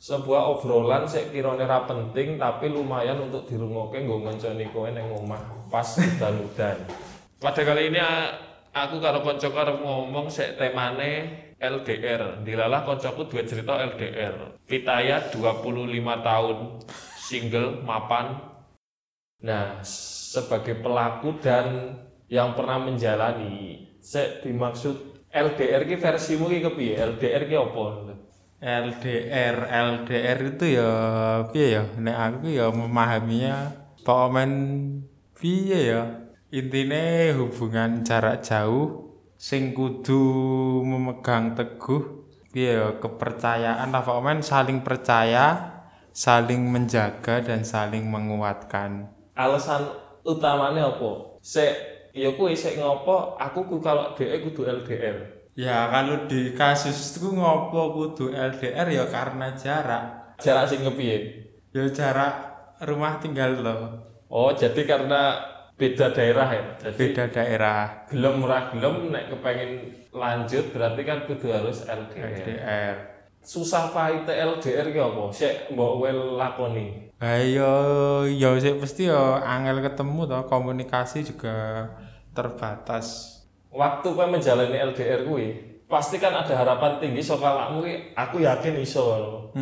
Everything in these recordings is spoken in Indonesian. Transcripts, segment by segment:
sebuah obrolan sik kirane ra penting tapi lumayan untuk dirungokke nggo ngancani kowe ning omah pas udan-udan. Pada kali ini aku karo kancaku arep ngomong sik temane LDR. Dilalah kancaku duwe cerita LDR. Pitaya 25 tahun single mapan. Nah, sebagai pelaku dan yang pernah menjalani, sik dimaksud LDR ki versimu ki kepiye? LDR ki apa? LDR itu ya piye ya, nek aku ya memahaminya pokoknya piye ya, intine hubungan jarak jauh sing kudu memegang teguh piye ya, kepercayaan lah, pokoknya saling percaya, saling menjaga dan saling menguatkan. Alasan utamanya apa? Ya kuwi sik ngopo aku kalau dhek kudu LDR. Ya kalau di kasusku ngopo kudu LDR ya karena jarak. Jarak sing kepiye? Ya jarak rumah tinggal loh. Oh, jadi karena beda daerah ya. Jadi Beda daerah. gelem ora gelem nek kepengin lanjut berarti kan kudu harus LDR. LDR. Susah pahit LDR ki apa? Sik mbok kowe lakoni. Ya sih pasti ya angel ketemu toh, komunikasi juga terbatas. Waktu kowe menjalani LDR kuwi, pasti kan ada harapan tinggi saka awakmu ki, aku yakin iso.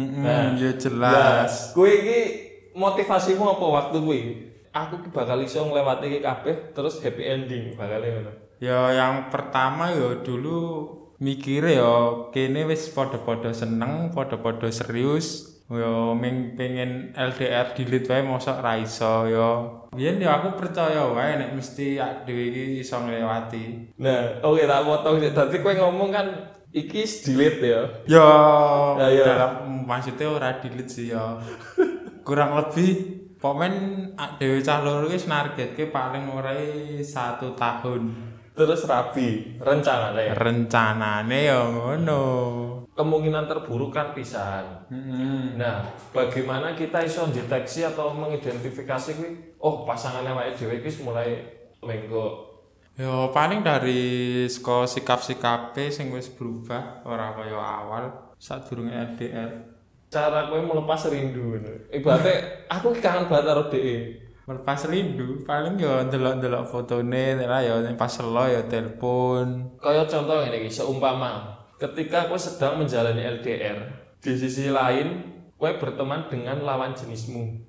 Ya jelas. Kowe iki motivasimu apa waktu kuwi? Aku ki bakal iso nglewati iki kabeh terus happy ending bakal ngono. Ya yang pertama ya dulu mikire ya kene wis padha-padha seneng, padha-padha serius. Ya pengen LDR dilit wae mosok ra iso ya. Biyen ya aku percaya wae nek mesti dhewe iki iso nglewati. Nah, oke tak potong sik. Dadi kowe ngomong kan iki delete ya. Ya, Ya. dalam maksudnya ora dilit sih ya. Kurang lebih pokoknya dhewe cah loro wis nargetke paling ora 1 tahun. Terus rabi rencananya. Rencanane ya ngono. Kemungkinan terburuk kan pisan. Nah, bagaimana kita iso deteksi atau mengidentifikasi kuwi? Oh, pasangannya awake dhewe iki mulai lenggo. Ya paling dari sikap-sikape sing wis berubah ora kaya awal sadurunge LDR. Cara kowe melepas rindu ngono. Ibaratnya aku ki kangen banget karo dhek. Melepas rindu paling ya ndelok-ndelok fotone lah ya pas selo ya telepon. Kaya contoh ngene iki, seumpama ketika kowe sedang menjalani LDR, di sisi lain kowe berteman dengan lawan jenismu.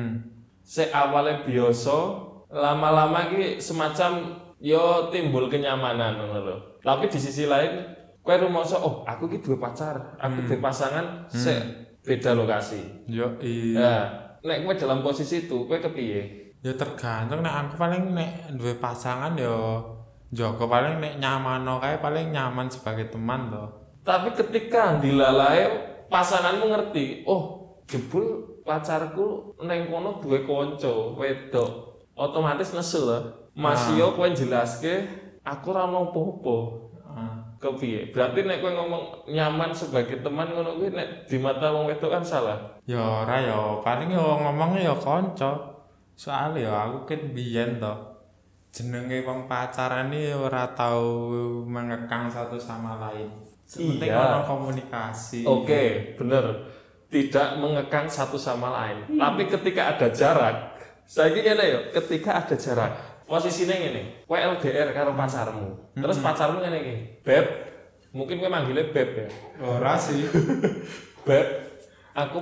Sik awalnya biasa, lama-lama ki semacam yo timbul kenyamanan ngono lho. Tapi di sisi lain kowe rumangsa, oh aku ki duwe pacar, aku duwe pasangan, sik beda lokasi. Yo Nah, nek kowe dalam posisi itu, kowe kepiye? ya tergantung nek aku paling nek duwe pasangan ya Joko paling nek nyamano kae paling nyaman sebagai teman toh. Tapi ketika dilalae pasanganmu ngerti, oh jebul pacarku neng kono duwe kanca wedok, otomatis nesu lho. Mas yo kowe jelaske aku ora ono apa-apa. Kepiye? Berarti nek kowe ngomong nyaman sebagai teman ngono kuwi nek di mata wong wedok kan salah. Ya ora ya paling ya ngomongnya ya kanca. Soalnya ya aku kan biyen toh jenenge wong pacaran iki ora tau mengekang satu sama lain. Penting ono komunikasi. Oke, bener. Tidak mengekang satu sama lain. Tapi ketika ada jarak, saiki ngene yo, ketika ada jarak, posisine ngene. Kowe LDR karo pacarmu. Terus pacarmu ngene iki, "Beb." Mungkin kowe manggilnya Beb ya. Ora sih. Beb, aku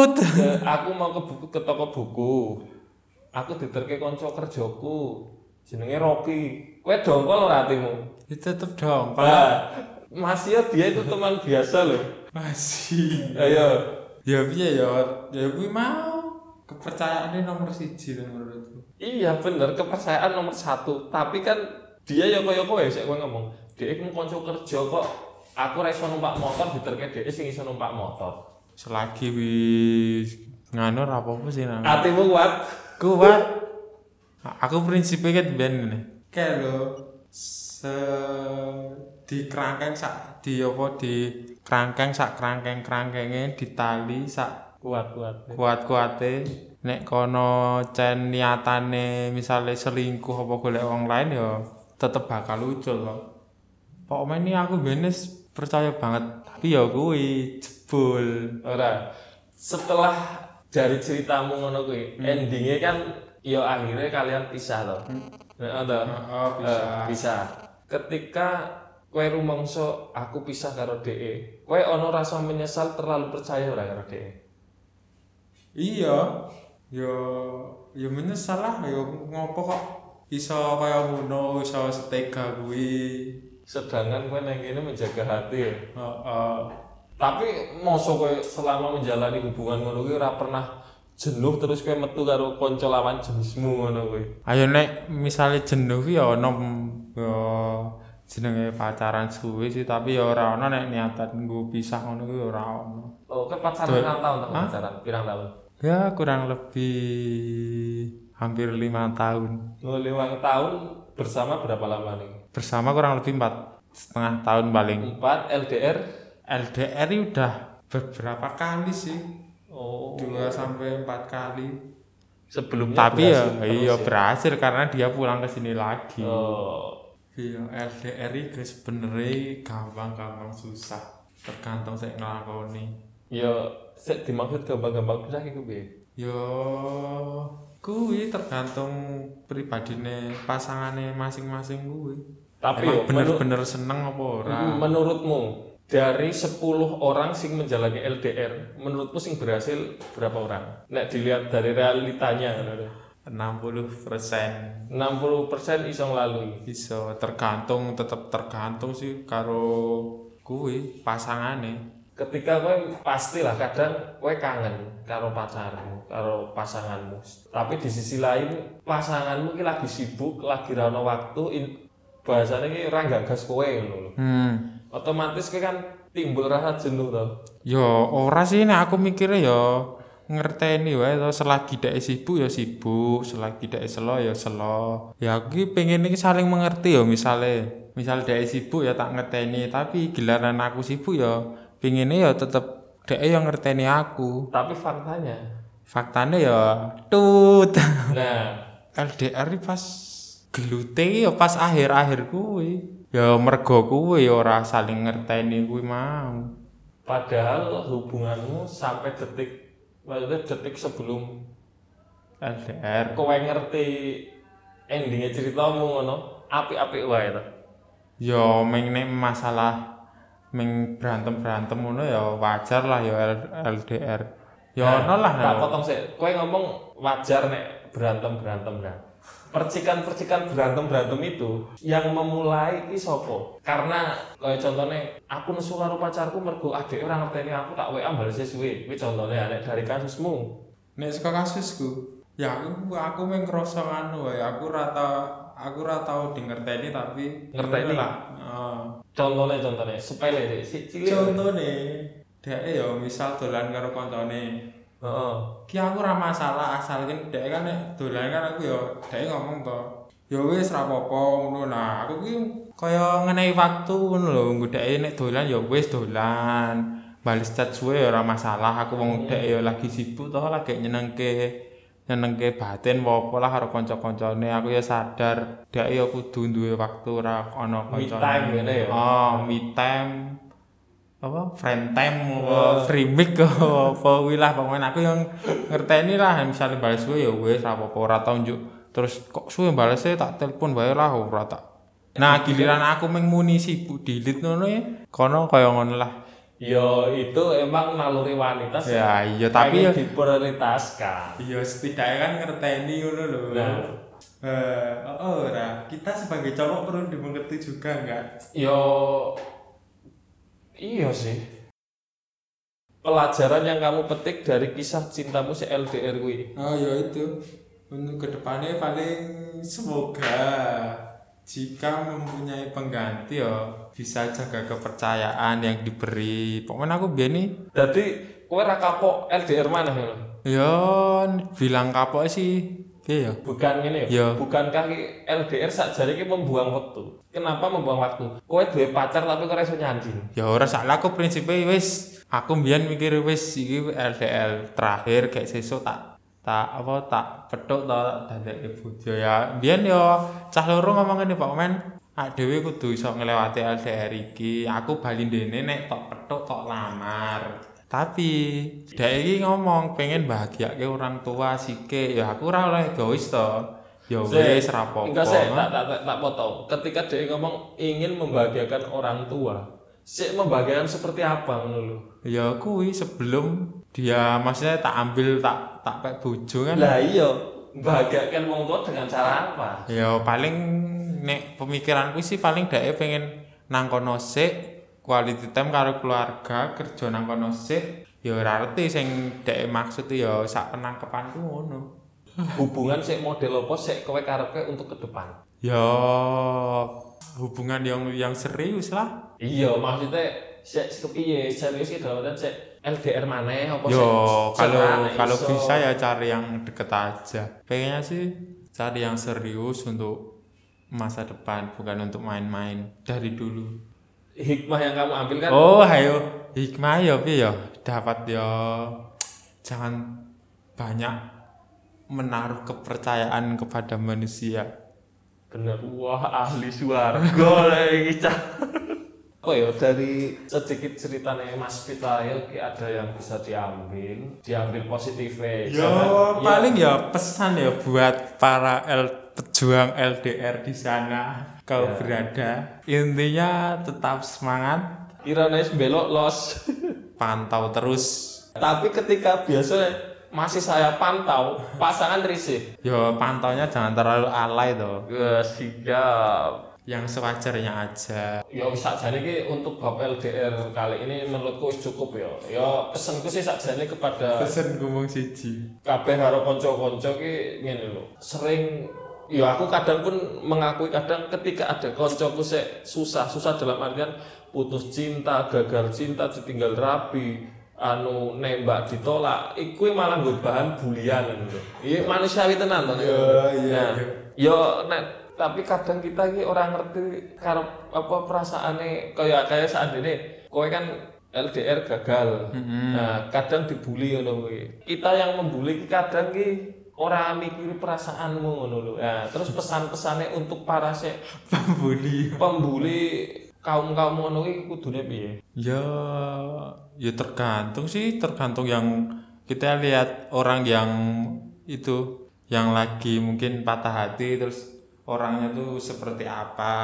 mau ke toko buku. Aku diterke kanca kerjaku. Jenenge Rocky. Kowe dongkol ora atimu? Itu tetep dong. Nah, masih ya dia itu teman biasa loh. Masih. Ayo. Ya piye ya? Ya kuwi mau kepercayaannya nomor 1 menurutku. Iya bener, kepercayaan nomor 1. Tapi kan dia ya kaya kowe sik kowe ngomong. Dhek iku kanca kerja kok. Aku ra iso numpak motor diterke dhek sing iso numpak motor. Selagi wis nganu ora apa-apa sih nang. Atimu kuat. Kuat. Aku prinsipnya kan ben ngene. Kayak lho di kerangkeng sak di kerangkeng sak kerangkenge ditali sak kuat-kuate nek kono cen niatane misale selingkuh apa golek wong lain ya tetep bakal ucul loh. Pokoknya ini aku benes percaya banget tapi ya kuwi jebul Ora. setelah dari ceritamu ngono kuwi, endingnya kan ya akhirnya kalian pisah toh. Heeh toh. Pisah. Ketika kowe rumangsa aku pisah karo DE, kowe ana rasa menyesal terlalu percaya ora karo DE? Iya. Yo menyesal lah, yo ngopo kok iso kaya ngono, iso setega kuwi. Sedangkan kowe nang kene menjaga hati ya. Heeh. Tapi mosok kowe selama menjalani hubungan ngono kuwi ora pernah jenuh terus kowe metu karo kanca lawan jenismu ngono kuwi. Ayo nek misale jenuh ki ya ono yo jenenge pacaran suwe sih, tapi ya ora ono nek niatan nggo pisah ngono kuwi ora ono. Oh, kowe pacaran pirang tahun to pacaran? Pirang tahun? Ya kurang lebih hampir 5 tahun. Oh, 5 tahun bersama berapa lama nih? Bersama kurang lebih 4,5 tahun paling. 4 LDR? LDR ini udah beberapa kali sih. Oh. 2 sampai 4 kali. Sebelumnya tapi ya iya ya? berhasil karena dia pulang ke sini lagi. Oh. Iya, LDR ini sebenarnya gampang susah. Tergantung saya ngelakoni. Ya, sik dimaksud gampang-gampang pisah iku piye? Yo kuwi tergantung pribadine pasangane masing-masing kuwi. Tapi emang yo bener-bener seneng apa ora? Menurutmu dari 10 orang sing menjalani LDR, menurutmu sing berhasil berapa orang? Nek dilihat dari realitanya ngono. 60%. 60% iso nglalui. Iso tetep tergantung sih karo kuwi pasangane. Ketika kowe pastilah kadang kowe kangen karo pacarmu, karo pasanganmu. Tapi di sisi lain pasanganmu ki lagi sibuk, lagi ra ono waktu, bahasane ki ora gagas kowe ngono lho. Otomatis kowe kan timbul rasa jenuh to. Yo ora sih nek aku mikirnya yo ngerteni wae to, selagi dhek sibuk ya sibuk, selagi dhek selo ya selo. Ya aku ki pengen iki saling mengerti yo, misal dhek sibuk ya tak ngerteni, tapi giliran aku sibuk ya pinginnya ya tetep dhek yang ngerteni aku. Tapi faktanya ya tut. Nah, LDR pas gelute ya pas akhir-akhir kuwi. Ya mergo kuwi ya ora saling ngerteni kuwi mau. Padahal hubunganmu sampai detik sebelum LDR kowe ngerti endingnya ceritamu ngono, apik-apik wae to. Ya nek masalah berantem ngono ya wajar lah ya LDR. Ya ono lah. Tak potong sik. Kowe ngomong wajar nek berantem lah. Percikan berantem itu yang memulai iki sapa? Karena kaya contone aku nesu karo pacarku mergo adek ora ngerteni aku tak WA bales suwe. Kuwi contone nek dari kasusmu. Nek saka kasusku, ya aku mung ngrasa anu wae, aku ora tau ngerteni tapi ngerteni lah. Contohnya sepele sik cilik. Contone dhek ya misal dolan karo kancane. Ki aku ora masalah asalkan dhek kan nek dolan kan aku ya dhek ngomong to. Ya wis ra apa-apa ngono. Nah, aku ki kaya ngenehi waktu ngono lho, nggo dhek nek dolan ya wis dolan. Bales chat suwe ya ora masalah, aku wong dhek ya lagi sibuk to, lagi nyenengke batin apa lah karo kanca-kancane. Aku ya sadar dhek ya kudu duwe waktu ora ana kancane. Me time ngene ya. Me time. Apa friend time apa free mic apa kuwi lah pokoknya aku yang ngerteni lah misale bales suwe ya wis ora apa-apa ora tau njuk terus kok suwe balese tak telepon wae lah ora tak. Nah giliran aku mung muni sibuk delete ngono ya kono kaya ngono lah. Ya itu emang naluri wanita sih. Ya iya tapi ya diprioritaskan. Iya setidaknya kan ngerteni ngono lho. Nah, ora kita sebagai cowok perlu dimengerti juga enggak? Yo iya sih. Pelajaran yang kamu petik dari kisah cintamu si LDR kuwi. Oh ya itu. Untuk kedepannya paling semoga jika mempunyai pengganti ya bisa jaga kepercayaan yang diberi. Pokoknya aku biar nih. Jadi kowe ra kapok LDR mana ya? Ya bilang kapok sih. Iya. Bukan ngene ya. Bukankah LDR sakjane iki membuang waktu? Kenapa membuang waktu? Kowe duwe pacar tapi kowe iso nyanjing. Ya ora salah aku prinsipe wis aku mbiyen mikir wis iki LDR terakhir kayak sesuk tak petuk tak dadeke bojo ya. Mbiyen yo cah loro ngomong ngene Pak Men, dhewe kudu iso nglewati LDR iki. Aku bali ndene nek tok petuk tok lamar. Tapi dhek iki ngomong pengen bahagiake orang tua sike, ya aku ora oleh egois to. Ya wis ra apa-apa. Enggak sih, tak potong. Ketika dia ngomong ingin membahagiakan orang tua, sik membahagiakan seperti apa ngono lho? Ya kuwi sebelum dia maksudnya tak ambil tak pek bojo kan. Lah iya, membahagiakan wong tua dengan cara apa? Ya paling nek pemikiranku sih paling dhek pengen nang kono sik quality time karo keluarga, kerja nang kono sik. Ya ora ngerti sing dhek maksud ya sak penangkepanku ngono. Hubungan sik model apa sik kowe karepke untuk ke depan? Ya hubungan yang serius lah. Iya, maksudnya sik kepiye? Serius iki dalam artian sik LDR maneh apa sik? Yo kalau iso? bisa ya cari yang deket aja. Pengennya sih cari yang serius untuk masa depan, bukan untuk main-main dari dulu. Hikmah yang kamu ambil kan? Oh, ayo hikmah ya piye ya? Dapat ya jangan banyak menaruh kepercayaan kepada manusia. Bener, wah ahli swarga lagi cah. Oh ya dari sedikit ceritanya Mas Pitaya ada yang bisa diambil positifnya. Paling ya pesan ya buat para pejuang LDR di sana kau berada. Intinya tetap semangat. Kiranya belok los. Pantau terus. Tapi ketika biasanya masih saya pantau, pasangan risih. Yo pantaunya jangan terlalu alay toh. Siap. Yang sewajarnya aja. Ya sakjane iki untuk bab LDR kali ini menurutku cukup ya. Ya pesenku sih sakjane kepada Pesen ngomong siji. kabeh karo kanca-kanca ki ngene lho. Sering ya aku kadang pun mengakui kadang ketika ada kancaku sik susah dalam artian putus cinta, gagal cinta, ditinggal rabi, nembak ditolak, iku malah nggo bahan bulian lho. Iya manusiawi tenan to. Iya. Ya nek tapi kadang kita ini orang ngerti karo apa perasaane kayak seandainya kowe kan LDR gagal. Nah, kadang dibully ngono kuwi. Kita yang membuli kadang ki ora mikiri perasaanmu ngono lho. Nah, terus pesan-pesane untuk para pembuli kaum-kaum ngono ki kudune piye? Ya tergantung yang kita lihat orang yang itu yang lagi mungkin patah hati terus orangnya tuh seperti apa,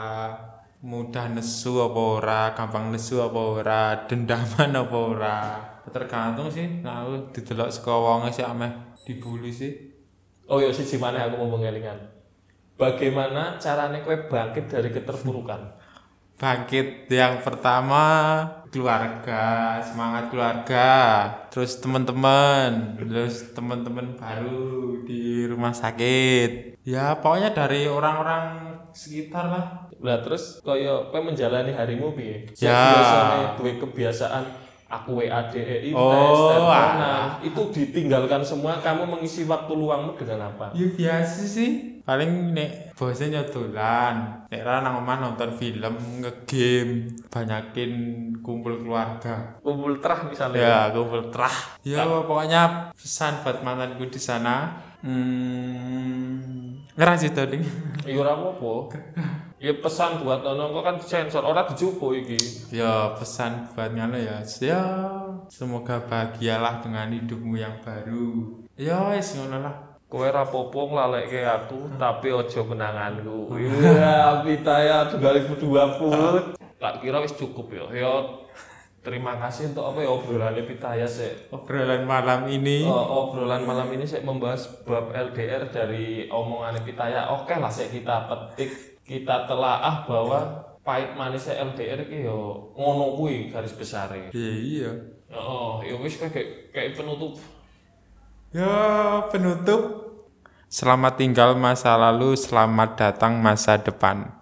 mudah nesu apa ora, gampang nesu apa ora, dendaman apa ora. Tergantung sih. Nah, aku didelok saka wonge sih ameh dibully sih. Oh ya siji maneh aku mau mengelingan. Bagaimana caranya kowe bangkit dari keterpurukan? Bangkit yang pertama keluarga, semangat keluarga, terus teman-teman baru di rumah sakit. Ya pokoknya dari orang-orang sekitar lah. Nah terus koyo kowe menjalani harimu piye? Ya. Biasanya duwe kebiasaan aku WADE nah itu ditinggalkan semua, kamu mengisi waktu luangmu dengan apa? Ya biasa sih. Paling nek bosnya dolan, nek ra nang omah nonton film, ngegame, banyakin kumpul keluarga. Kumpul terah misalnya. Ya, kumpul terah. Ya pokoknya pesan buat mantanku di sana. Ngerasi to ding. Ya ora apa-apa. Ya pesan buat nono kok kan sensor ora dijupo iki. Ya pesan buat ngono ya. Ya semoga bahagialah dengan hidupmu yang baru. Ya wis ngono lah. Kowe ra popo nglalekke aku, tapi aja kenanganku. Iya, Pitaya 2020. Tak kira wis cukup ya. Ya terima kasih untuk apa ya obrolan Pitaya sik. Obrolan malam ini. Obrolan malam ini sik membahas bab LDR dari omongan Pitaya. Oke lah sik kita petik, kita telaah bahwa pahit manisnya LDR iki yo ngono kuwi garis besare. Iya. Ya wis kayak penutup. Ya penutup. Selamat tinggal masa lalu, selamat datang masa depan.